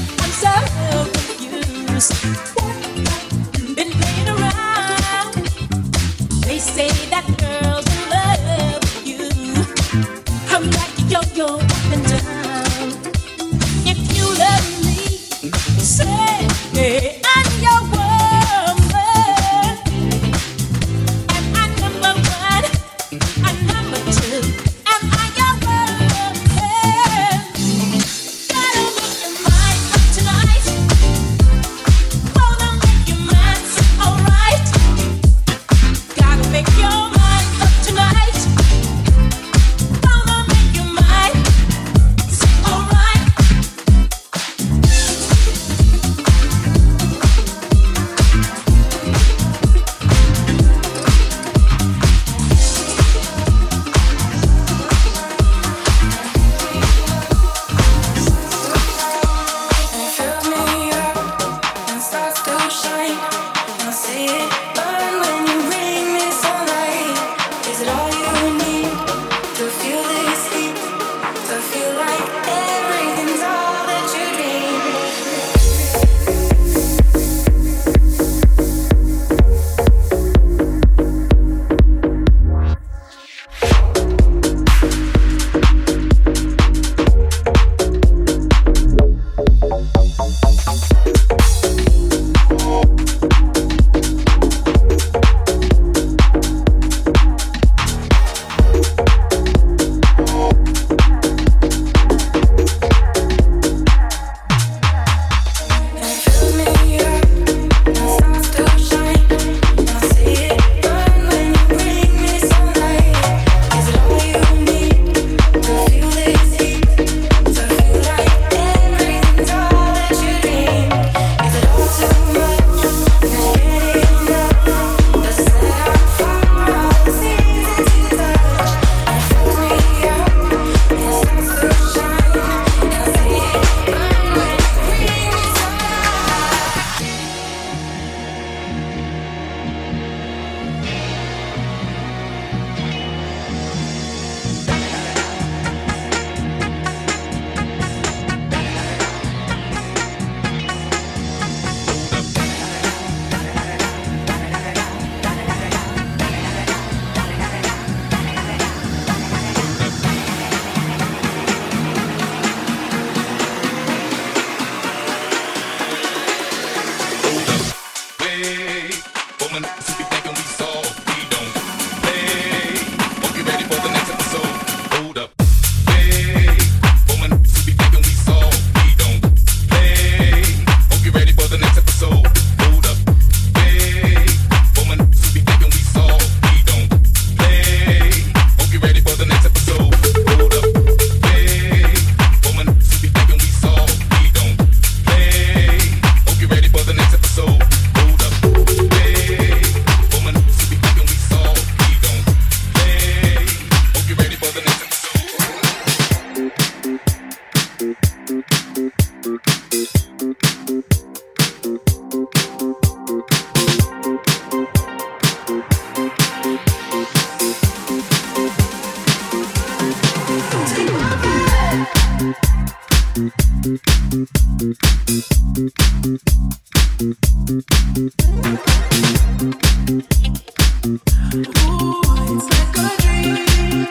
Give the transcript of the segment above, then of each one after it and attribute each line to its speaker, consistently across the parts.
Speaker 1: I'm so confused. Been playing around. They say that girls in love with you. I'm like a yo-yo up and down. If you love me, say I'm your woman. Am I number one? I'm number two. Am I your woman? Gotta make your mind up tonight. Wanna make your mind so alright. Gotta make your mind up tonight. Wanna make your mind so alright.
Speaker 2: Fill me up and stars to shine. I'll see it burn when you bring me sunlight. Is it all you need to feel this heat? To feel like everything's all that you dream. Fill me up and stars to shine. I'll see it burn when you bring me sunlight. Is it all you need to feel this heat? To feel like everything's all that you dream. Is it all too much? Can't get enough. The set on fire, all the things that you touch. Fill me up and stars to shine. I'll see it burn when you bring me sunlight.
Speaker 3: Hey, woman, so we thinking we soft, we don't play. Hope you ready for the next episode. Hold up. Hey, woman, so we thinking we soft, we don't play. Hope you ready for the next episode. Hold up. Hey, woman, so we thinking we soft, we don't play. Hope you ready for the next episode. Hold up. Hey, woman, so we thinking we soft, we don't play. Hope you ready for the next episode. Hold up. Hey, woman, so we thinking we soft, we don't play. Hope you ready for the next episode.
Speaker 2: It's like a dream.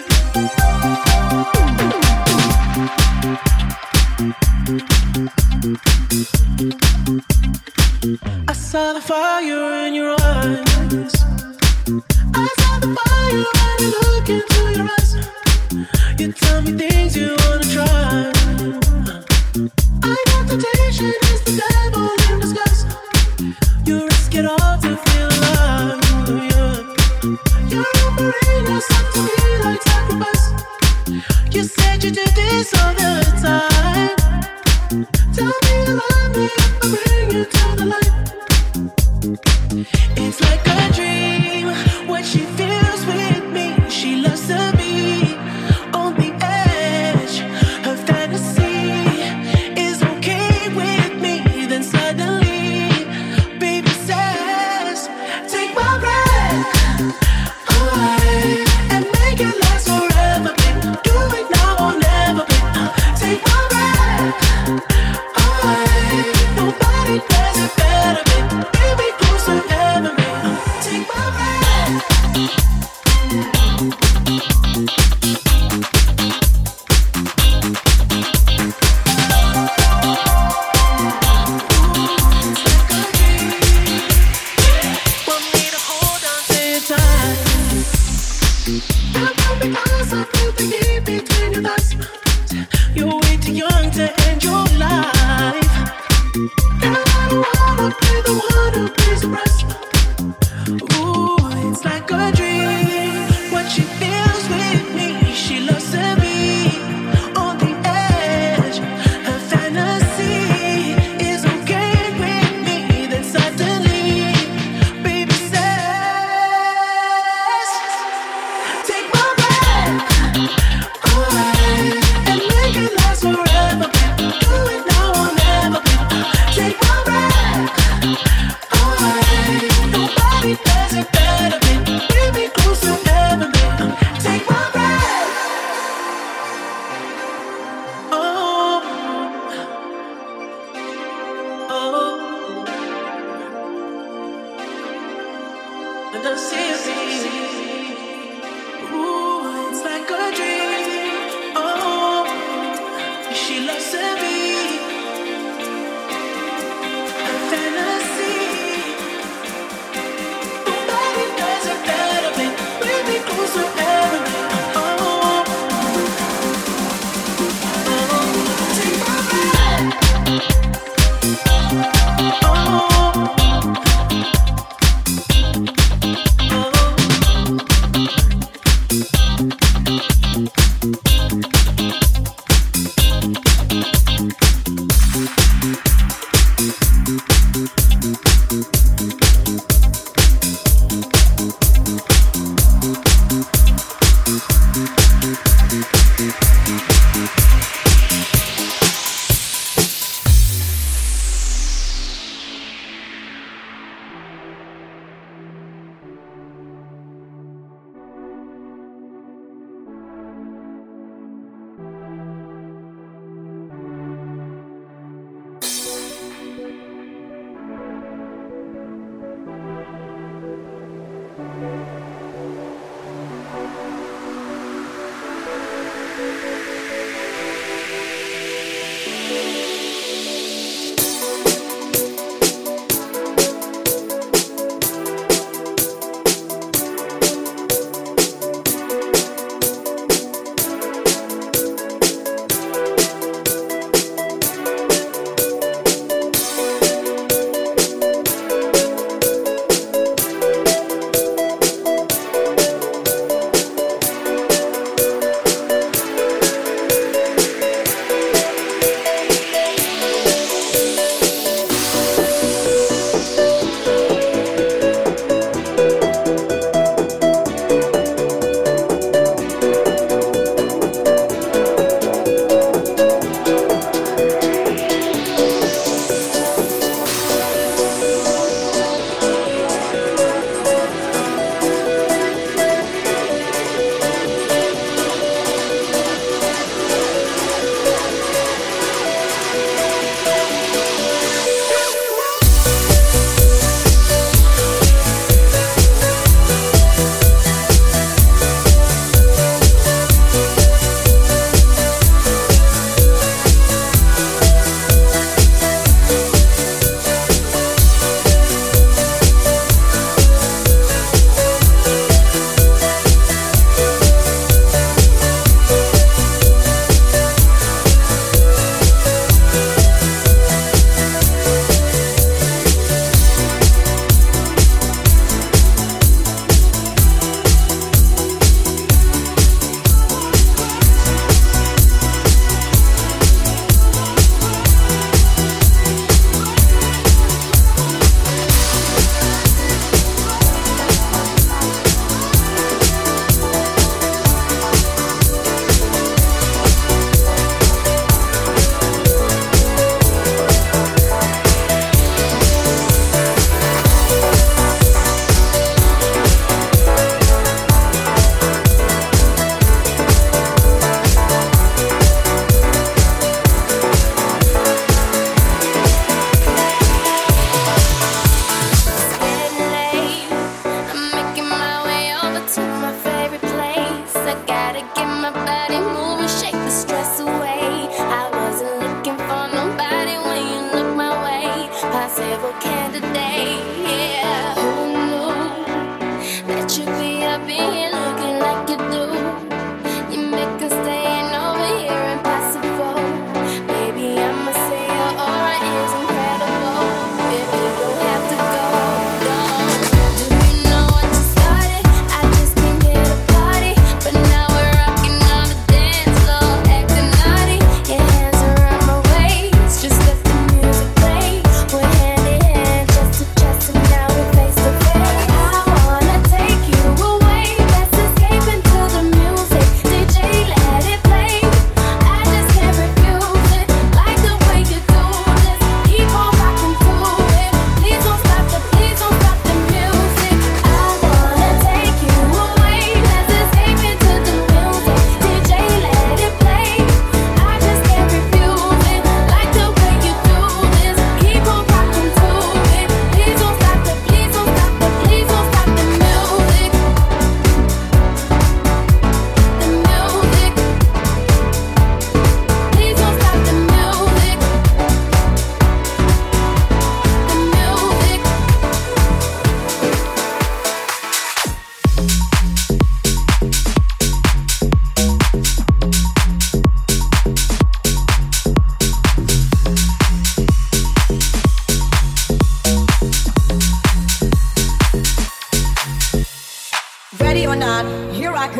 Speaker 2: I saw the fire in your eyes. I saw the fire when you look into your eyes. You tell me things you wanna try. I know temptation is the devil in disguise. You risk it all to feel alive. Yeah. You're offering yourself to me like sacrifice. You said you do this all the time. Tell me you love me if I bring you to the light. It's like a dream when she feels with me. She loves to be on the edge. Her fantasy is okay with me. Then suddenly, baby says, take my breath away and make it last forever, babe. Do it now or never, babe. Take my breath away. Just let the music play. We're hand in hand.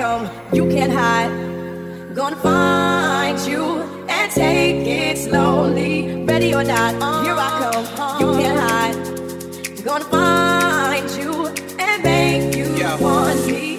Speaker 4: come, you can't hide. Gonna find you and take it slowly. Ready or not, here I come, you can't hide. Gonna find you and make you want me.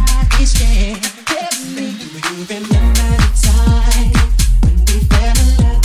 Speaker 5: Remember the time when we fell in love.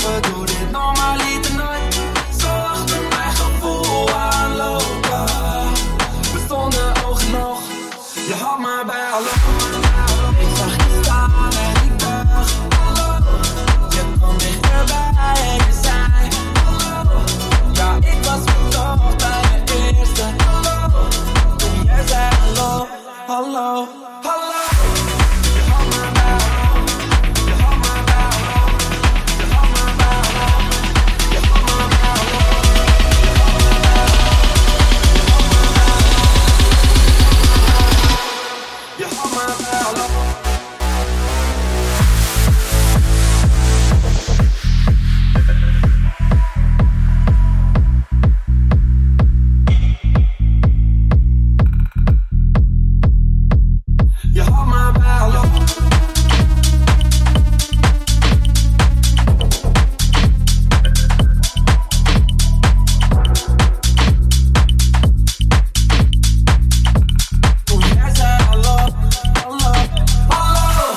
Speaker 5: geloven, doe dit normaliter nooit. Zo achter mijn gevoel aanlopen. We stonden oog in oog, je had me bij hallo. Ik zag je staan en ik dacht hallo. Je kwam dichterbij en je zei hallo. Ja, ik was verkocht bij de eerste hallo. Toen jij zei hallo, hallo, hallo. Je had me bij hallo. Je had me bij hallo. Je had me bij hallo. Je had me bij hallo. Je had me bij hallo. Je had me bij hallo. Je had me bij hallo. Toen jij zei hallo, hallo, hallo.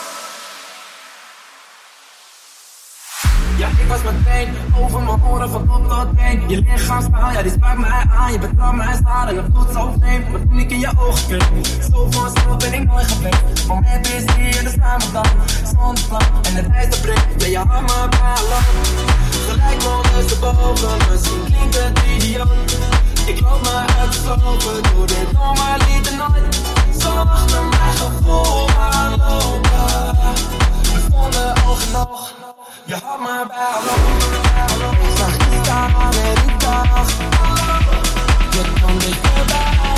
Speaker 5: Ja, ik was meteen over mijn oren van top tot teen. Je lichaamstaal, ja die sprak mij aan. Je betrapt mij staan en het voelt zo vreemd. Maar toen ik in je ogen keek, zo vanzelf ben ik nooit geweest. Moment is hier, dus staan we dan. Zonnevlam en het ijs breekt. Ja, je had me bij hallo. Gelijk ondersteboven, misschien klinkt het idioot. Ik loop me uitgeslopen, doe dit normaliter nooit. Zo achter mijn gevoel aanlopen. We stonden oog in oog, je had me bij hallo. Ik zag je staan en ik dacht hallo. Je kwam dichterbij